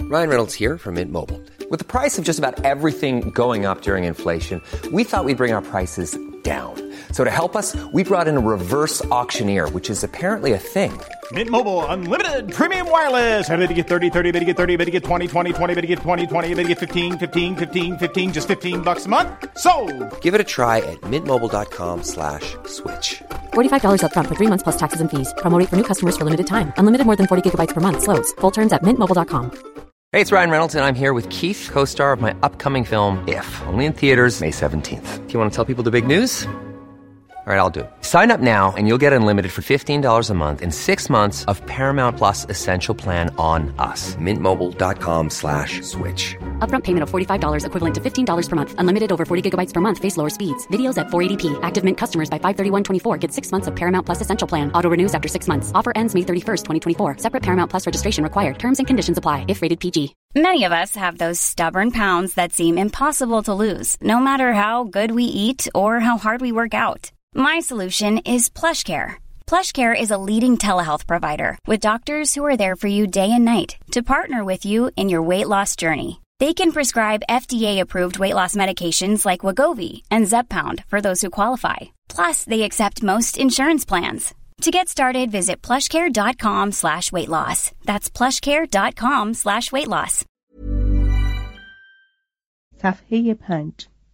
Ryan Reynolds here from Mint Mobile. With the price of just about everything going up during inflation, we thought we'd bring our prices down. So to help us, we brought in a reverse auctioneer, which is apparently a thing. Mint Mobile Unlimited Premium Wireless. How to get 30, 30, bit to get 30, bit to get 20, 20, 20, bit to get 20, 20, bit to get 15, 15, 15, 15, just $15 a month? Sold! Give it a try at mintmobile.com/switch. $45 up front for 3 months plus taxes and fees. Promo rate for new customers for limited time. Unlimited more than 40 gigabytes per month. Slows full terms at mintmobile.com. Hey, it's Ryan Reynolds, and I'm here with Keith, co-star of my upcoming film, If, only in theaters May 17th. Do you want to tell people the big news? All right, I'll do it. Sign up now and you'll get unlimited for $15 a month and 6 months of Paramount Plus Essential Plan on us. mintmobile.com/switch. Upfront payment of $45 equivalent to $15 per month. Unlimited over 40 gigabytes per month. Face lower speeds. Videos at 480p. Active Mint customers by 531.24 get 6 months of Paramount Plus Essential Plan. Auto renews after 6 months. Offer ends May 31st, 2024. Separate Paramount Plus registration required. Terms and conditions apply if rated PG. Many of us have those stubborn pounds that seem impossible to lose, no matter how good we eat or how hard we work out. My solution is PlushCare. PlushCare is a leading telehealth provider with doctors who are there for you day and night to partner with you in your weight loss journey. They can prescribe FDA-approved weight loss medications like Wegovy and Zepbound for those who qualify. Plus, they accept most insurance plans. To get started, visit plushcare.com/weightloss. That's plushcare.com/weightloss. صفحه 5.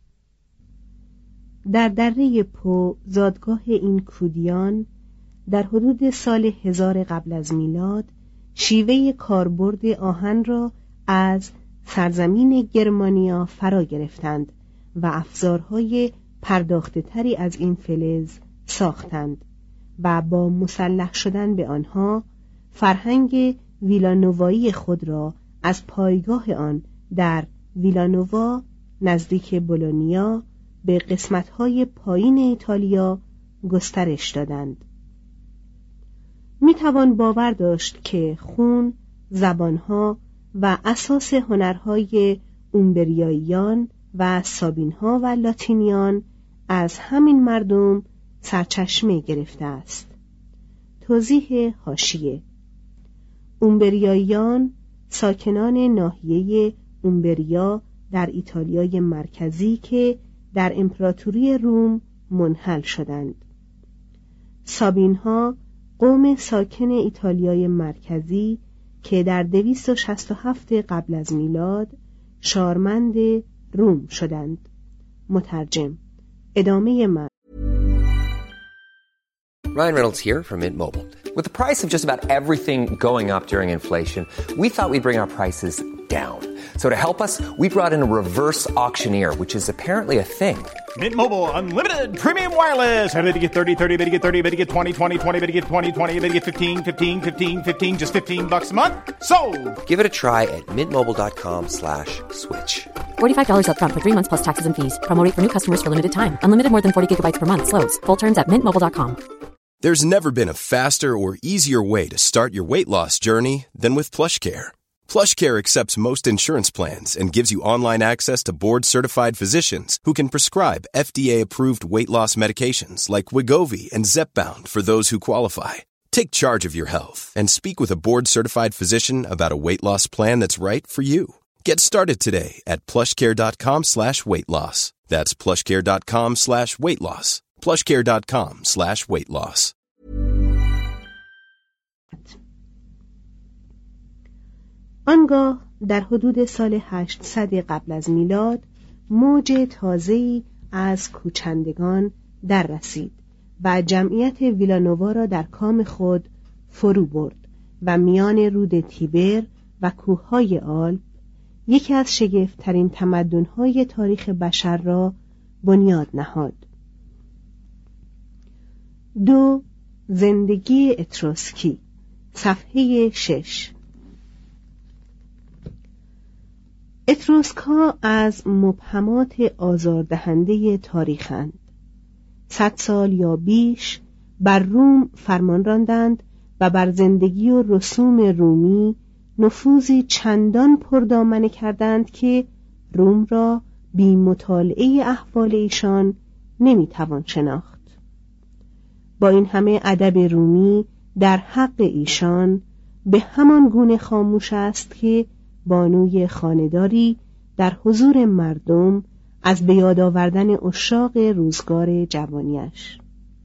در دره پو زادگاه این کودیان در حدود سال 1000 قبل از میلاد شیوه کاربرد آهن را از سرزمین گرمانیا فرا گرفتند و افزارهای پرداخته تری از این فلز ساختند و با مسلح شدن به آنها فرهنگ ویلانووایی خود را از پایگاه آن در ویلانووا نزدیک بولونیا به قسمت‌های پایین ایتالیا گسترش دادند. میتوان باور داشت که خون، زبانها و اساس هنرهای اومبریاییان و سابینها و لاتینیان از همین مردم سرچشمه گرفته است. توضیح حاشیه: اومبریاییان ساکنان ناحیه اومبریا در ایتالیای مرکزی که در امپراتوری روم منحل شدند. سابینها قوم ساکن ایتالیای مرکزی که در 267 قبل از میلاد شارمند روم شدند. مترجم. ادامه من. Ryan Reynolds here from Mint Mobile. With the price of just about everything going up during inflation, we thought we'd bring our prices down. So to help us, we brought in a reverse auctioneer, which is apparently a thing. Mint Mobile Unlimited Premium Wireless. How to get 30, 30, bit to get 30, bit to get 20, 20, 20, bit to get 20, 20, bit to get 15, 15, 15, 15, just $15 a month? Sold! Give it a try at mintmobile.com/switch. $45 up front for 3 months plus taxes and fees. Promo rate for new customers for limited time. Unlimited more than 40 gigabytes per month. Slows full terms at mintmobile.com. There's never been a faster or easier way to start your weight loss journey than with PlushCare. PlushCare accepts most insurance plans and gives you online access to board-certified physicians who can prescribe FDA-approved weight loss medications like Wegovy and Zepbound for those who qualify. Take charge of your health and speak with a board-certified physician about a weight loss plan that's right for you. Get started today at plushcare.com/weightloss. That's plushcare.com/weightloss. plushcare.com/weightloss. آنگاه در حدود سال 800 قبل از میلاد موج تازه‌ای از کوچندگان در رسید و جمعیت ویلانووا را در کام خود فرو برد و میان رود تیبر و کوههای آلپ یکی از شگفت‌ترین تمدن‌های تاریخ بشر را بنیاد نهاد. 2. زندگی اتروسکی. صفحه 6. اتروسک‌ها از مبهمات آزاردهنده تاریخند. 100 سال یا بیش بر روم فرمان راندند و بر زندگی و رسوم رومی نفوذی چندان پردامنه کردند که روم را بی مطالعه احوال ایشان نمیتوان شناخت. با این همه ادب رومی در حق ایشان به همان گونه خاموش است که بانوی خانه‌داری در حضور مردم از به یاد آوردن عشاق روزگار جوانیش.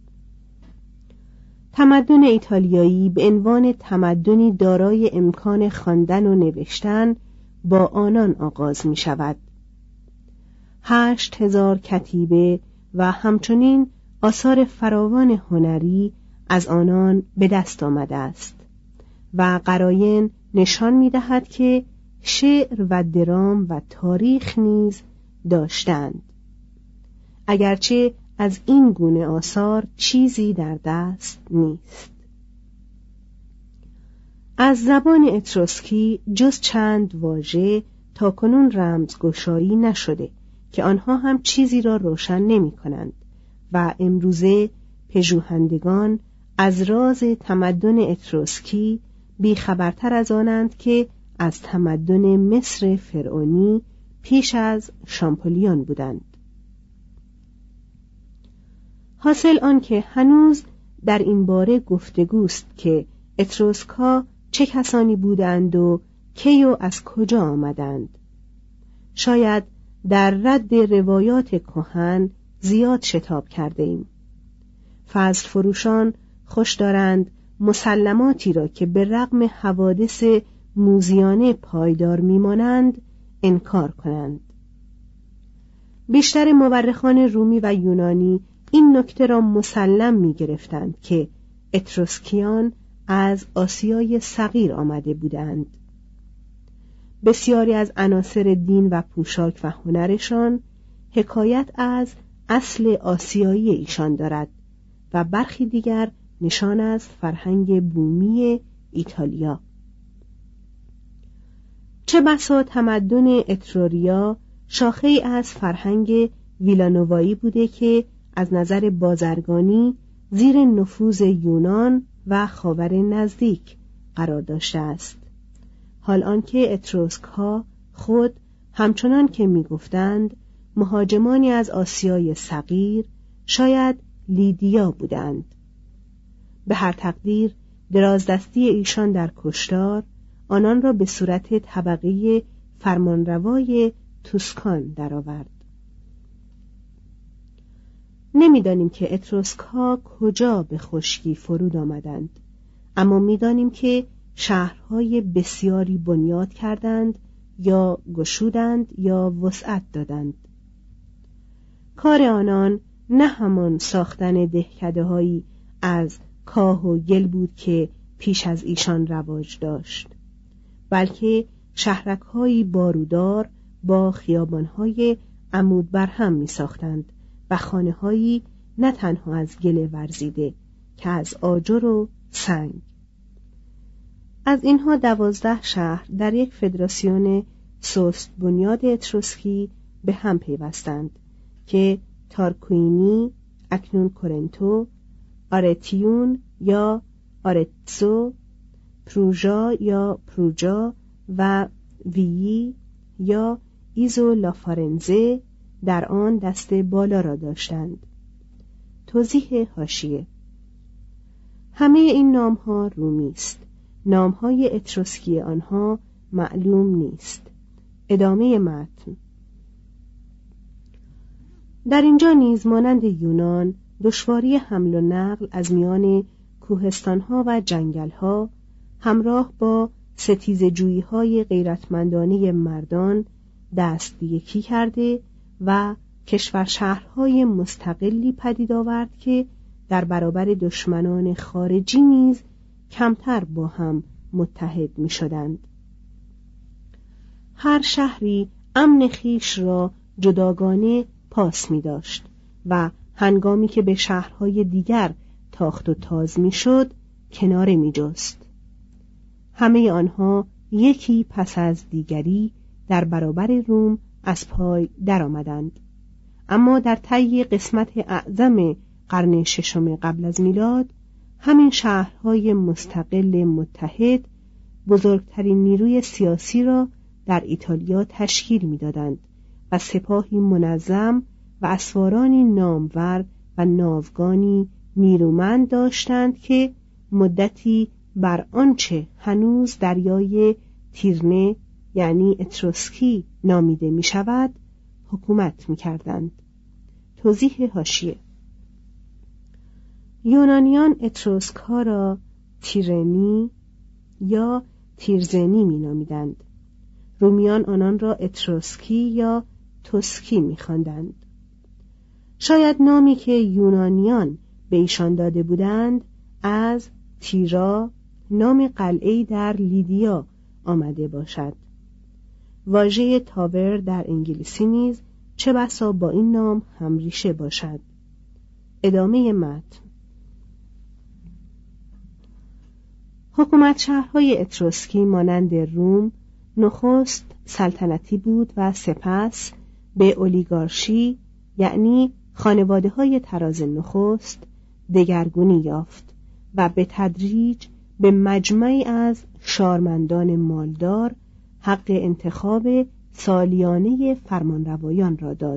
تمدن ایتالیایی به عنوان تمدنی دارای امکان خواندن و نوشتن با آنان آغاز می شود. 8,000 کتیبه و همچنین آثار فراوان هنری از آنان به دست آمده است و قراین نشان می دهد که شعر و درام و تاریخ نیز داشتند، اگرچه از این گونه آثار چیزی در دست نیست. از زبان اتروسکی جز چند واژه تاکنون رمزگشایی نشده که آنها هم چیزی را روشن نمی کنند و امروزه پژوهندگان از راز تمدن اتروسکی بیخبرتر از آنند که از تمدن مصر فرعونی پیش از شامپولیون بودند. حاصل آن که هنوز در این باره گفتگوست که اتروسک‌ها چه کسانی بودند و کی و از کجا آمدند. شاید در رد روایات کهن زیاد شتاب کرده ایم. فضل فروشان خوش دارند مسلماتی را که به رغم حوادث موذیانه پایدار میمانند انکار کنند. بیشتر مورخان رومی و یونانی این نکته را مسلم می گرفتند که اتروسکیان از آسیای صغیر آمده بودند. بسیاری از عناصر دین و پوشاک و هنرشان حکایت از اصل آسیایی ایشان دارد و برخی دیگر نشان از فرهنگ بومی ایتالیا. چه بسا تمدن اتروریا شاخه‌ای از فرهنگ ویلانوایی بوده که از نظر بازرگانی زیر نفوذ یونان و خاور نزدیک قرار داشته است، حال آنکه اتروسک‌ها خود همچنان که می‌گفتند مهاجمانی از آسیای صغیر، شاید لیدیا بودند. به هر تقدیر درازدستی ایشان در کشتار آنان را به صورت طبقه فرمانروای توسکان درآورد. نمیدانیم که اتروسک‌ها کجا به خشکی فرود آمدند، اما میدانیم که شهرهای بسیاری بنیاد کردند یا گشودند یا وسعت دادند. کار آنان نه همان ساختن دهکده‌هایی از کاه و گل بود که پیش از ایشان رواج داشت، بلکه شهرک‌هایی بارودار با خیابان‌های عمود برهم می‌ساختند و خانه‌هایی نه تنها از گل ورزیده که از آجر و سنگ. از اینها 12 شهر در یک فدراسیون سوست بنیاد اتروسکی به هم پیوستند که تارکوینی، اکنون کورنتو، آرتیون یا آرتزو، پروژا یا پروجا و ویی یا ایزو لافارنزه در آن دست بالا را داشتند. توضیح حاشیه: همه این نام‌ها رومی است. نام‌های اتروسکی آنها معلوم نیست. ادامه متن. در اینجا نیز مانند یونان دشواری حمل و نقل از میان کوهستان‌ها و جنگل‌ها همراه با ستیزجویی‌های غیرتمندانه مردان دست به یکی کرده و کشور شهرهای مستقلی پدید آورد که در برابر دشمنان خارجی نیز کمتر با هم متحد می شدند. هر شهری امن خویش را جداگانه پاس می داشت و هنگامی که به شهرهای دیگر تاخت و تاز می شد کناره می جست. همه آنها یکی پس از دیگری در برابر روم از پای در آمدند، اما در طی قسمت اعظم قرن ششم قبل از میلاد همین شهرهای مستقل متحد بزرگترین نیروی سیاسی را در ایتالیا تشکیل می‌دادند و سپاهی منظم و اسوارانی نامور و ناوگانی نیرومند داشتند که مدتی بر آنچه هنوز دریای تیرنه یعنی اتروسکی نامیده می شود حکومت می کردند. توضیح حاشیه: یونانیان اتروسک ها را تیرنی یا تیرزنی می نامیدند. رومیان آنان را اتروسکی یا توسکی می خواندند. شاید نامی که یونانیان به ایشان داده بودند از تیرا، نام قلعه‌ای در لیدیا، آمده باشد. واژه تاور در انگلیسی نیز چه بسا با این نام همریشه باشد. ادامه متن. حکومت شهرهای اتروسکی مانند روم نخست سلطنتی بود و سپس به اولیگارشی، یعنی خانواده‌های طراز نخست، دگرگونی یافت و به تدریج به مجمعی از شارمندان مالدار حق انتخاب سالیانه فرمانروایان را داد.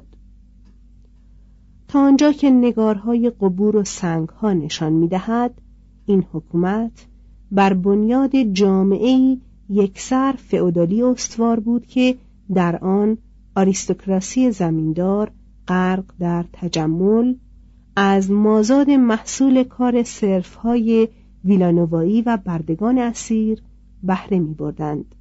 تا آنجا که نگارهای قبور و سنگها نشان می‌دهد، این حکومت بر بنیاد جامعه‌ای یکسر فئودالی استوار بود که در آن آریستوکراسی زمیندار غرق در تجمل از مازاد محصول کار صرف‌های ویلانوایی و بردگان اسیر بهره می‌بردند.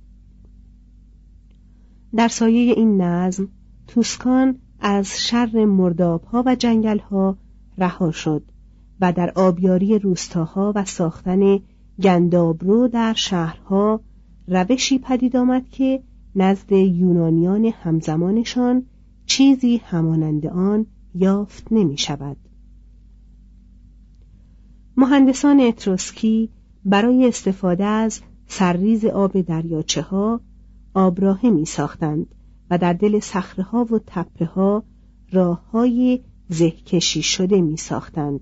در سایه این نظم توسکان از شر مرداب‌ها و جنگل‌ها رها شد و در آبیاری روستاها و ساختن گندابرو در شهرها روشی پدید آمد که نزد یونانیان همزمانشان چیزی همانند آن یافت نمی شود. مهندسان اتروسکی برای استفاده از سرریز آب دریاچه ها آبراهه می ساختند و در دل صخره ها و تپه ها راه های زهکشی شده می ساختند.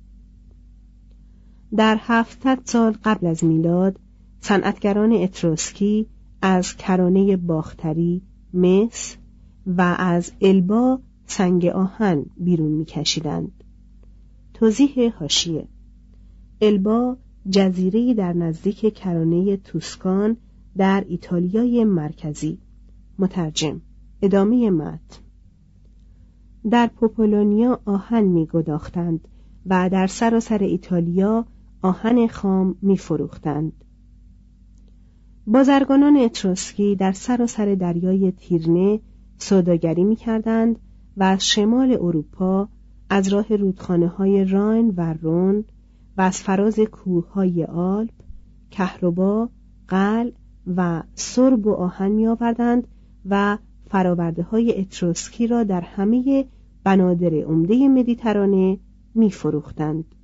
در 700 سال قبل از میلاد صنعتگران اتروسکی از کرانه باختری، مس و از البا سنگ آهن بیرون می‌کشیدند. توضیح حاشیه: البا جزیره‌ای در نزدیک کرانه توسکان در ایتالیای مرکزی. مترجم. ادامه متن. در پوپولونیا آهن می‌گداختند و در سراسر ایتالیا آهن خام می‌فروختند. بازرگانان اتروسکی در سراسر دریای تیرنه سوداگری می‌کردند و از شمال اروپا، از راه رودخانه‌های راین و رون و از فراز کوه‌های آلپ، کهربا، قلع و سرب و آهن می‌آوردند و فرآورده‌های اتروسکی را در همه بنادر عمده مدیترانه می‌فروختند.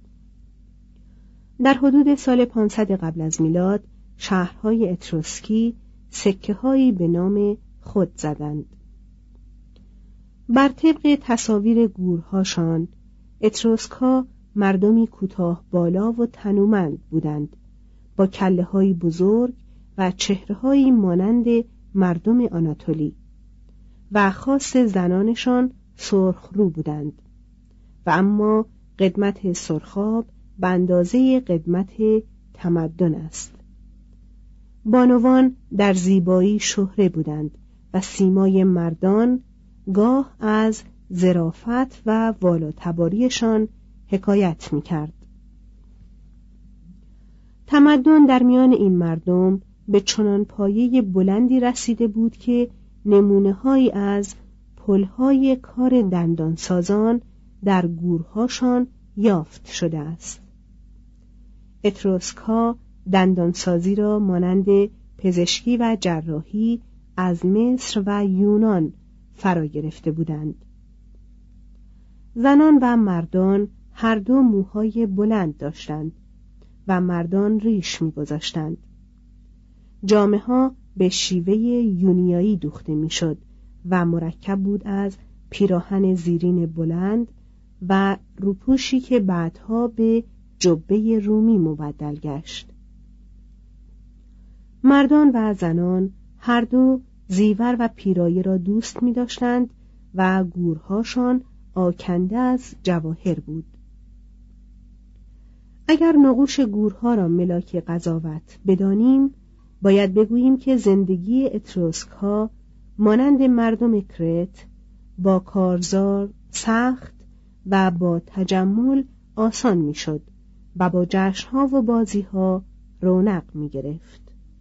در حدود سال 500 قبل از میلاد شهرهای اتروسکی سکه‌هایی به نام خود زدند. بر طبق تصاویر گورهاشان اتروسک‌ها مردمی کوتاه بالا و تنومند بودند، با کله‌هایی بزرگ و چهره‌هایی مانند مردم آناتولی و خاص زنانشان سرخ رو بودند و اما قدمت سرخاب به اندازه قدمت تمدن است. بانوان در زیبایی شهره بودند و سیمای مردان گاه از ظرافت و والاتباریشان حکایت می‌کرد. تمدن در میان این مردم به چنان پایه بلندی رسیده بود که نمونه‌هایی از پل‌های کار دندانسازان در گورهاشان یافت شده است. اتروسک‌ها دندانسازی را مانند پزشکی و جراحی از مصر و یونان فرا گرفته بودند. زنان و مردان هر دو موهای بلند داشتند و مردان ریش می‌گذاشتند. جامه‌ها به شیوه یونیایی دوخته می‌شد و مرکب بود از پیراهن زیرین بلند و روپوشی که بعدها به جبه رومی مبدل گشت. مردان و زنان هر دو زیور و پیرایه را دوست می داشتند و گورهاشان آکنده از جواهر بود. اگر نقوش گورها را ملاک قضاوت بدانیم، باید بگوییم که زندگی اتروسک‌ها مانند مردم کرت با کارزار، سخت و با تجمل آسان میشد و با جشن‌ها و بازی‌ها رونق می‌گرفت.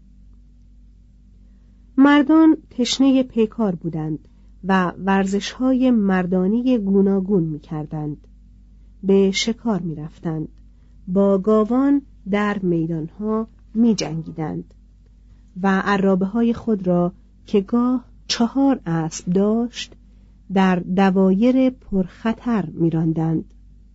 مردان تشنه پیکار بودند و ورزش‌های مردانه گوناگون می‌کردند. به شکار می‌رفتند، با گاوان در میدان‌ها می‌جنگیدند و عرابه‌های خود را که گاه 4 اسب داشت در دوایر پرخطر می‌راندند.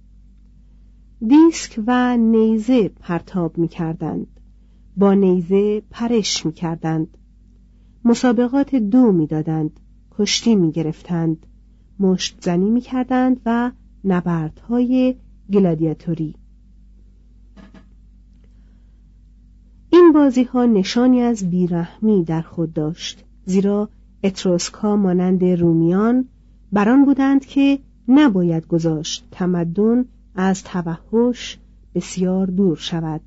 دیسک و نیزه پرتاب می‌کردند، با نیزه پرش می‌کردند، مسابقات دو می‌دادند، کشتی می‌گرفتند، مشت زنی می‌کردند و نبردهای گلادیاتوری. این بازی‌ها نشانی از بیرحمی در خود داشت، زیرا اتروسک‌ها مانند رومیان بران بودند که نباید گذاشت تمدن از توحش بسیار دور شود.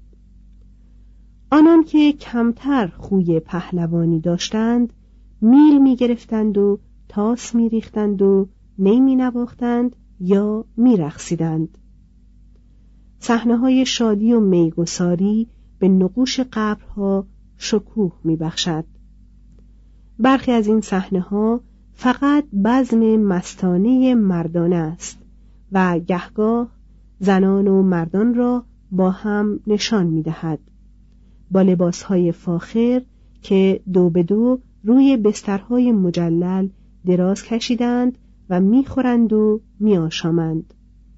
آنان که کمتر خوی پهلوانی داشتند میل می‌گرفتند و تاس می‌ریختند و نی می‌نواختند یا می‌رقصیدند. صحنه‌های شادی و میگساری به نقوش قبرها شکوه می‌بخشد. برخی از این صحنه‌ها فقط بزم مستانه مردانه است و گهگاه زنان و مردان را با هم نشان می‌دهد، با لباسهای فاخر که دو به دو روی بسترهای مجلل دراز کشیدند و می‌خورند و می‌آشامند.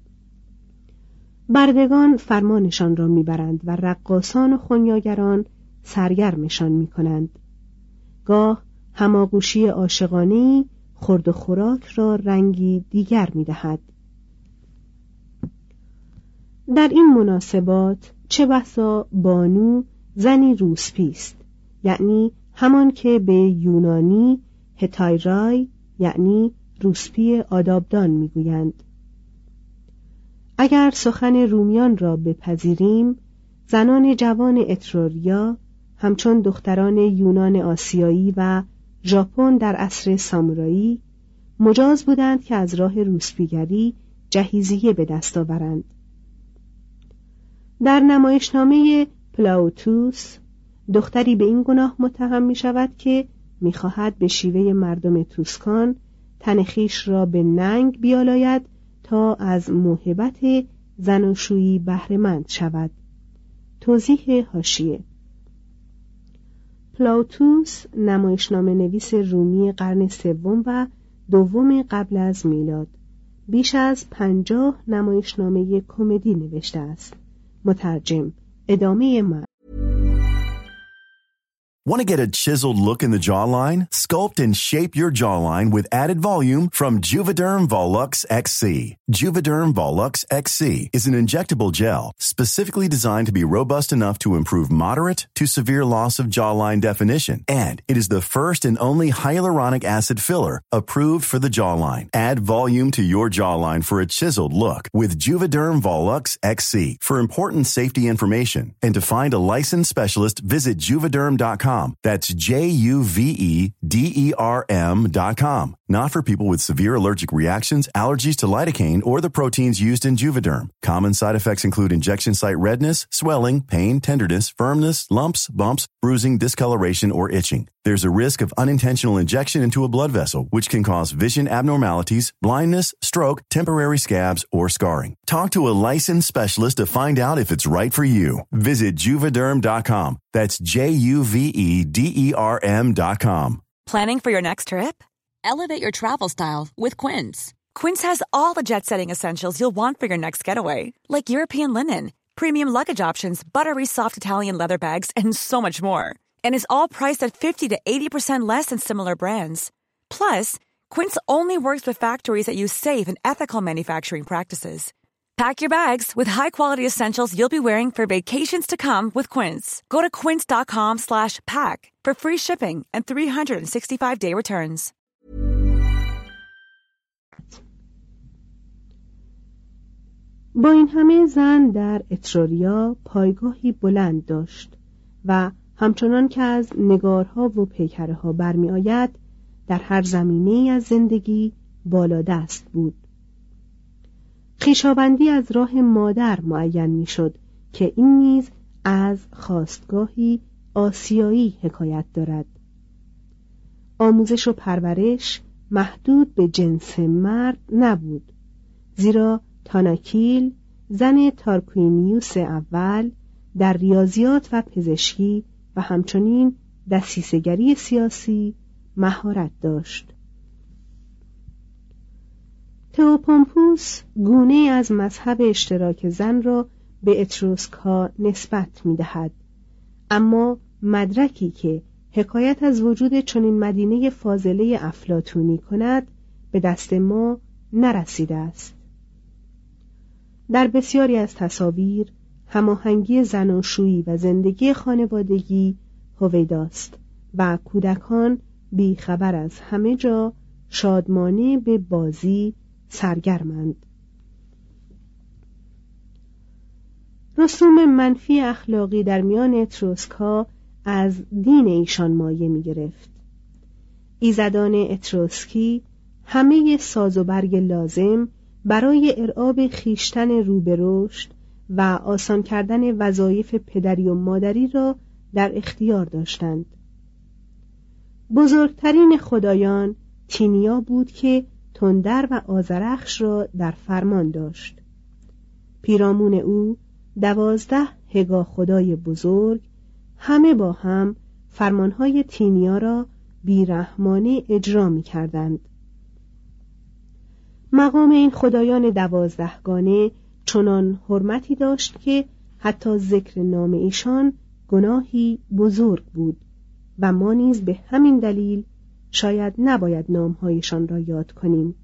بردگان فرمانشان را می‌برند و رقاصان و خنیاگران سرگرمشان می‌کنند. گاه هماغوشی عاشقانه‌ای خورد و خوراک را رنگی دیگر می‌دهد. در این مناسبات چه بسا بانو زنی روسپی است، یعنی همان که به یونانی هتایرای یعنی روسپی آدابدان میگویند. اگر سخن رومیان را بپذیریم، زنان جوان اتروریا همچون دختران یونان آسیایی و ژاپن در عصر سامورایی مجاز بودند که از راه روسپیگری جهیزیه به دست آورند. در نمایشنامه پلاوتوس دختری به این گناه متهم می شود که می خواهد به شیوه مردم توسکان تن خویش را به ننگ بیالاید تا از موهبت زناشویی بهره‌مند شود. توضیح حاشیه: پلاوتوس نمایشنامه نویس رومی قرن سوم و دوم قبل از میلاد بیش از 50 نمایشنامه کمدی نوشته است. مترجم. ادامه متن. Want to get a chiseled look in the jawline? Sculpt and shape your jawline with added volume from Juvederm Volux XC. Juvederm Volux XC is an injectable gel specifically designed to be robust enough to improve moderate to severe loss of jawline definition. And it is the first and only hyaluronic acid filler approved for the jawline. Add volume to your jawline for a chiseled look with Juvederm Volux XC. For important safety information and to find a licensed specialist, visit juvederm.com. That's JUVEDERM.com. Not for people with severe allergic reactions, allergies to lidocaine, or the proteins used in Juvederm. Common side effects include injection site redness, swelling, pain, tenderness, firmness, lumps, bumps, bruising, discoloration, or itching. There's a risk of unintentional injection into a blood vessel, which can cause vision abnormalities, blindness, stroke, temporary scabs, or scarring. Talk to a licensed specialist to find out if it's right for you. Visit Juvederm.com. That's JUVEDERM.com. Planning for your next trip? Elevate your travel style with Quince. Quince has all the jet-setting essentials you'll want for your next getaway, like European linen, premium luggage options, buttery soft Italian leather bags, and so much more. And is all priced at 50 to 80% less than similar brands. Plus, Quince only works with factories that use safe and ethical manufacturing practices. Pack your bags with high-quality essentials you'll be wearing for vacations to come with Quince. Go to quince.com/pack for free shipping and 365-day returns. با این همه زن در اتروریا پایگاهی بلند داشت و همچنان که از نگارها و پیکره‌ها برمی آید در هر زمینه‌ای از زندگی بالادست بود. خویشاوندی از راه مادر معین می شد که این نیز از خاستگاهی آسیایی حکایت دارد. آموزش و پرورش محدود به جنس مرد نبود، زیرا تاناکیل زن تارکوینیوس اول در ریاضیات و پزشکی و همچنین دسیسه‌گری سیاسی مهارت داشت. تئوپومپوس گونه از مذهب اشتراک زن را به اتروسک‌ها نسبت می‌دهد، اما مدرکی که حکایت از وجود چنین مدینه فاضله افلاطونی کند به دست ما نرسیده است. در بسیاری از تصاویر هماهنگی زناشویی و زندگی خانوادگی هویداست و کودکان بیخبر از همه جا شادمانه به بازی سرگرمند. رسوم منفی اخلاقی در میان اتروسک‌ها از دین ایشان مایه می گرفت. ایزدان اتروسکی همه ساز و برگ لازم برای ارعاب خیشتن رو به رشد و آسان کردن وظایف پدری و مادری را در اختیار داشتند. بزرگترین خدایان تینیا بود که تندر و آذرخش را در فرمان داشت. پیرامون او 12 هگا خدای بزرگ همه با هم فرمانهای تینیا را بیرحمانه اجرا می کردند. مقام این خدایان 12 گانه چنان حرمتی داشت که حتی ذکر نام ایشان گناهی بزرگ بود و ما نیز به همین دلیل شاید نباید نامهایشان را یاد کنیم.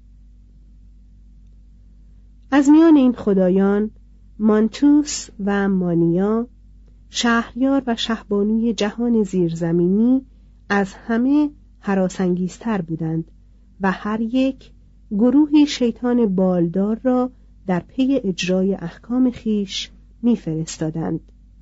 از میان این خدایان مانتوس و مانیا، شهریار و شهبانوی جهان زیرزمینی، از همه هراسانگیزتر بودند و هر یک گروهی شیطان بالدار را در پی اجرای احکام خیش می‌فرستادند.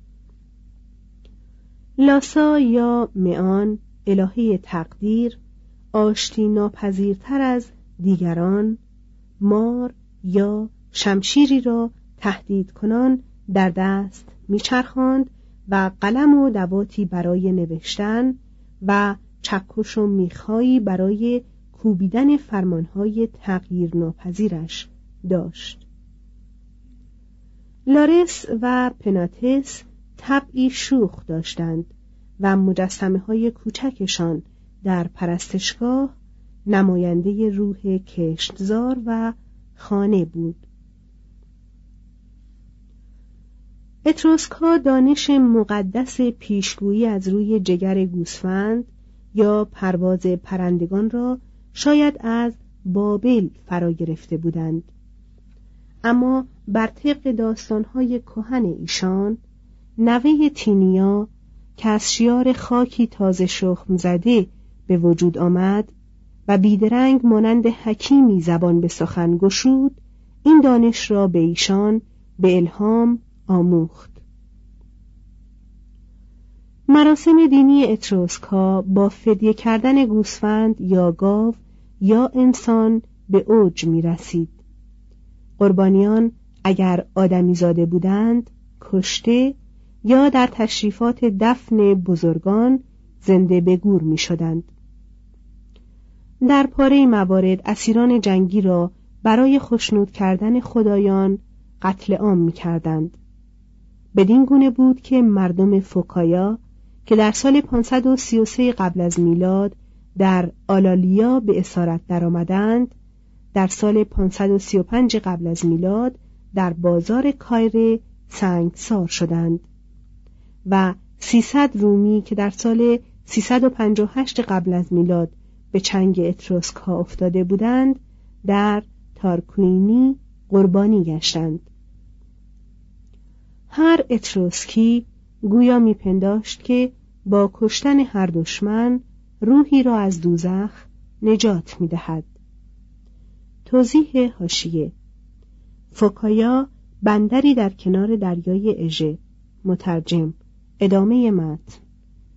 لاسا یا معان، الهه تقدیر، آشتی ناپذیرتر از دیگران، مار یا شمشیری را تهدید کنان در دست میچرخاند و قلم و دواتی برای نوشتن و چکش و میخایی برای کوبیدن فرمانهای تغییر ناپذیرش داشت. لارس و پناتس طبعی شوخ داشتند و مجسمه های کوچکشان در پرستشگاه نماینده روح کشتزار و خانه بود. اتروسک‌ها دانش مقدس پیشگویی از روی جگر گوسفند یا پرواز پرندگان را شاید از بابل فرا گرفته بودند، اما بر طبق داستان‌های کهن ایشان، نوه تینیا که از شیار خاکی تازه شخم زده به وجود آمد و بیدرنگ مانند حکیمی زبان به سخن گشود، این دانش را به ایشان به الهام آموخت. مراسم دینی اتروسک‌ها با فدیه کردن گوسفند یا گاو یا انسان به اوج می رسید. قربانیان اگر آدمی زاده بودند کشته یا در تشریفات دفن بزرگان زنده به گور می شدند. در پاره موارد اسیران جنگی را برای خشنود کردن خدایان قتل عام می کردند. بدین گونه بود که مردم فوکایا که در سال 533 قبل از میلاد در آلالیا به اسارت درآمدند، در سال 535 قبل از میلاد در بازار کایره سنگسار شدند و 300 رومی که در سال 358 قبل از میلاد به چنگ اتروسک‌ها افتاده بودند در تارکوینی قربانی گشتند. هر اتروسکی گویا میپنداشت که با کشتن هر دشمن روحی را از دوزخ نجات میدهد. توضیح حاشیه: فوکایا بندری در کنار دریای اژه. مترجم. ادامه متن.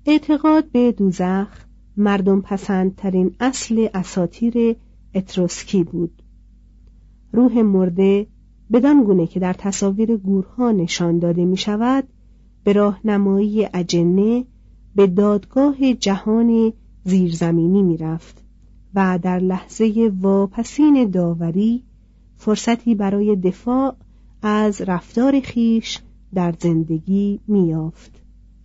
اعتقاد به دوزخ مردم پسندترین اصل اساطیر اتروسکی بود. روح مرده بدان گونه که در تصاویر گورها نشان داده می شود به راهنمایی اجنه به دادگاه جهان زیرزمینی می رفت و در لحظه واپسین داوری فرصتی برای دفاع از رفتار خیش در زندگی می یافت.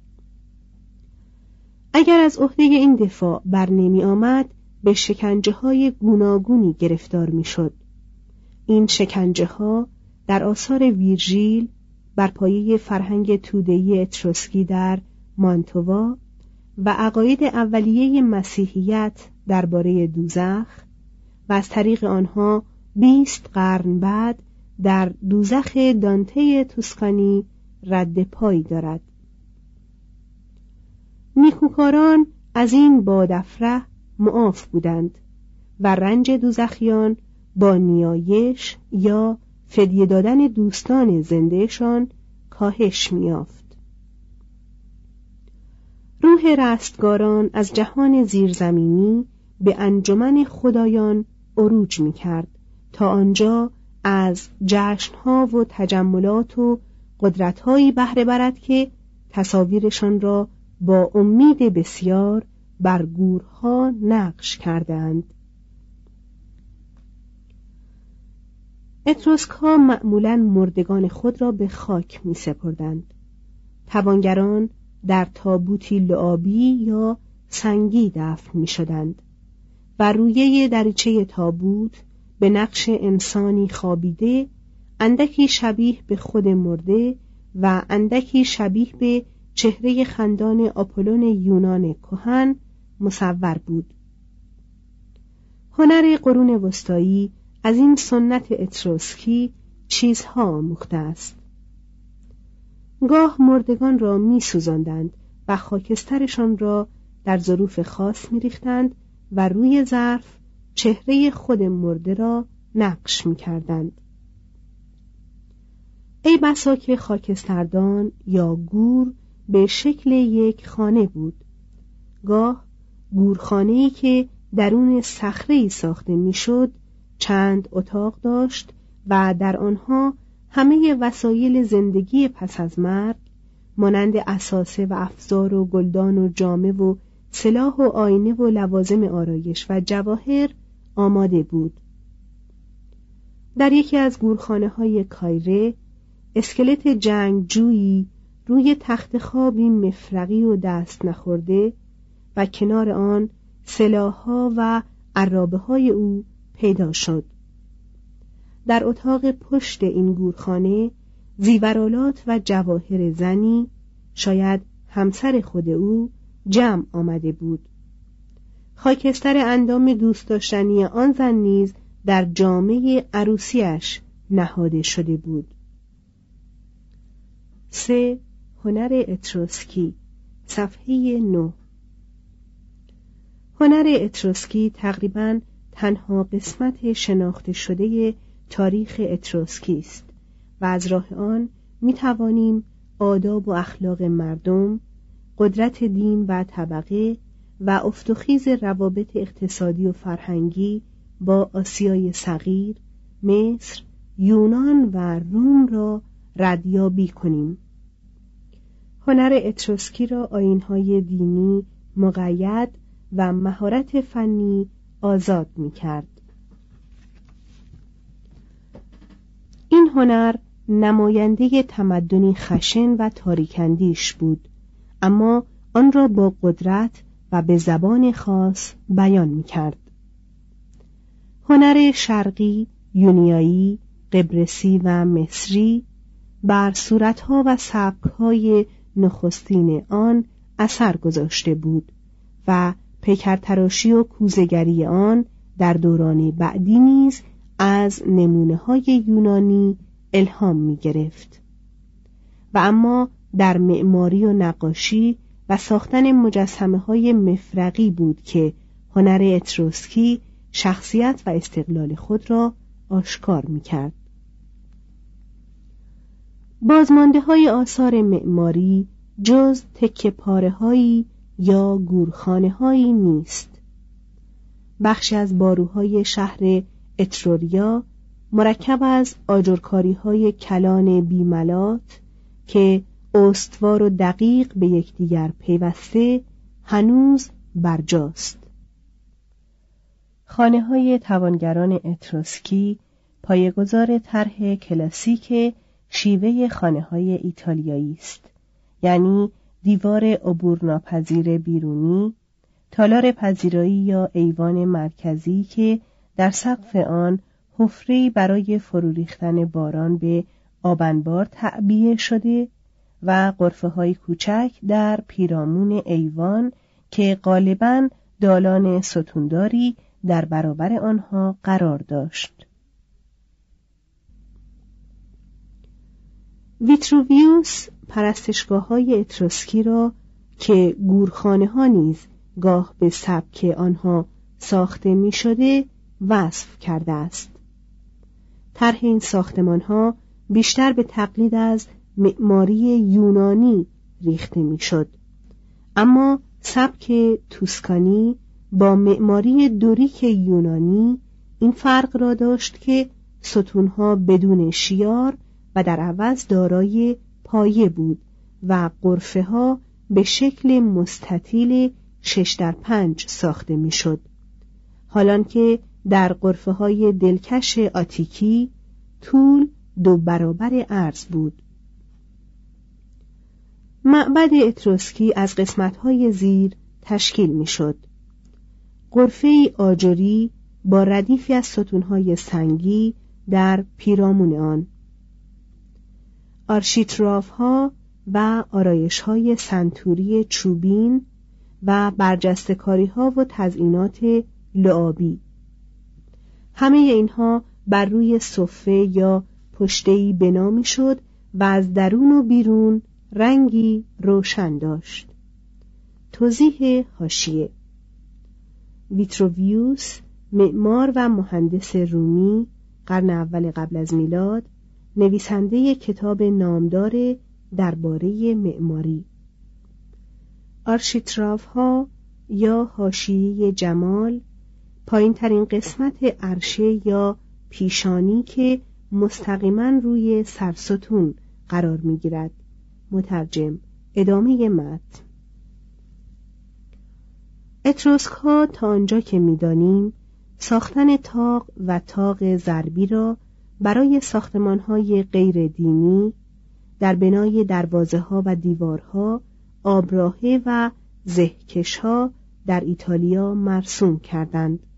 اگر از عهده این دفاع بر نمی آمد به شکنجه های گوناگونی گرفتار می شد. این شکنجه ها در آثار ویرژیل بر پایه فرهنگ توده‌ای اتروسکی در مانتووا و عقاید اولیه مسیحیت درباره دوزخ و از طریق آنها 20 قرن بعد در دوزخ دانته توسکانی رد پای دارد. نیکوکاران از این بادافره معاف بودند و رنج دوزخیان با نیایش یا فدیه دادن دوستان زندهشان کاهش می‌یافت. روح رستگاران از جهان زیرزمینی به انجمن خدایان عروج می‌کرد تا آنجا از جشن‌ها و تجملات و قدرت‌هایی بهره برد که تصاویرشان را با امید بسیار بر گورها نقش کردند. اتروسک‌ها معمولاً مردگان خود را به خاک می سپردند. توانگران در تابوتی لعابی یا سنگی دفن می شدند و رویه دریچه تابوت به نقش انسانی خوابیده، اندکی شبیه به خود مرده و اندکی شبیه به چهره خندان آپولون یونان کهن مصور بود. هنر قرون وسطایی از این سنت اتروسکی چیزها آموخته است. گاه مردگان را می سوزاندند و خاکسترشان را در ظروف خاص می ریختند و روی ظرف چهره خود مرده را نقش می کردند. ای بسا که خاکستردان یا گور به شکل یک خانه بود. گاه گورخانه‌ای که درون صخره‌ای ساخته میشد چند اتاق داشت و در آنها همه وسایل زندگی پس از مرگ مانند اساسه و افزار و گلدان و جامه و سلاح و آینه و لوازم آرایش و جواهر آماده بود. در یکی از گورخانه‌های کایره اسکلت جنگجویی روی تخت خوابی مفرقی و دست نخورده و کنار آن سلاح‌ها و عرابه‌های او پیدا شد. در اتاق پشت این گورخانه زیورالات و جواهر زنی، شاید همسر خود او، جمع آمده بود. خاکستر اندام دوست داشتنی آن زن نیز در جامه عروسیش نهاده شده بود. 3. هنر اتروسکی، صفحه 9. هنر اتروسکی تقریباً تنها قسمت شناخته شده تاریخ اتروسکی است و از راه آن می توانیم آداب و اخلاق مردم، قدرت دین و طبقه و افت و خیز روابط اقتصادی و فرهنگی با آسیای صغیر، مصر، یونان و روم را ردیابی کنیم. هنر اتروسکی را آیین‌های دینی مقید و مهارت فنی آزاد می‌کرد. این هنر نماینده تمدنی خشن و تاریک‌اندیش بود، اما آن را با قدرت و به زبان خاص بیان می‌کرد. هنر شرقی، یونیایی، قبرسی و مصری بر صورت‌ها و سبک‌های نخستین آن اثر گذاشته بود و پیکرتراشی و کوزه‌گری آن در دوران بعدی نیز از نمونه‌های یونانی الهام می‌گرفت. و اما در معماری و نقاشی و ساختن مجسمه‌های مفرقی بود که هنر اتروسکی شخصیت و استقلال خود را آشکار می‌کرد. بازمانده‌های آثار معماری جز تکه پاره‌هایی یا گورخانه هایی نیست. بخشی از باروهای شهر اتروریا مرکب از آجرکاری های کلان بیملات که استوار و دقیق به یکدیگر پیوسته هنوز برجاست. خانه های توانگران اتروسکی پایه‌گذار طرح کلاسیک شیوه خانه های ایتالیایی است، یعنی دیوار عبورناپذیر بیرونی، تالار پذیرایی یا ایوان مرکزی که در سقف آن حفره‌ای برای فرو ریختن باران به آبنبار تعبیه شده و غرفه‌های کوچک در پیرامون ایوان که غالباً دالان ستونداری در برابر آنها قرار داشت. ویتروویوس پرستشگاه‌های اتروسکی را که گورخانه‌ها نیز گاه به سبک آنها ساخته می‌شده وصف کرده است. طرح این ساختمان‌ها بیشتر به تقلید از معماری یونانی ریخته می‌شد، اما سبک توسکانی با معماری دوریک یونانی این فرق را داشت که ستونها بدون شیار و در عوض دارای پایه بود و غرفه‌ها به شکل مستطیل 6x5 ساخته می‌شد، حالان که در غرفه‌های دلکش آتیکی طول 2 برابر عرض بود. معبد اتروسکی از قسمت‌های زیر تشکیل می‌شد: غرفه‌ای آجری با ردیفی از ستون‌های سنگی در پیرامون آن، آرشیتراف‌ها و آرایش‌های سنتوری چوبین و برجسته‌کاری‌ها و تزئینات لعابی. همه اینها بر روی صفه یا پشته‌ای بنا می‌شد و از درون و بیرون رنگی روشن داشت. توضیح حاشیه: ویتروویوس، معمار و مهندس رومی قرن اول قبل از میلاد، نویسنده کتاب نامدار درباره معماری. آرشیتراف‌ها یا حاشیه جمال، پایین ترین قسمت عرشه یا پیشانی که مستقیما روی سرستون قرار می‌گیرد. مترجم. ادامه متن. اتروسک‌ها تا آنجا که می‌دانیم ساختن طاق و طاق ضربی را برای ساختمان‌های غیر دینی در بنای دروازه‌ها و دیوارها، آبراهه و زهکش‌ها در ایتالیا مرسوم کردند.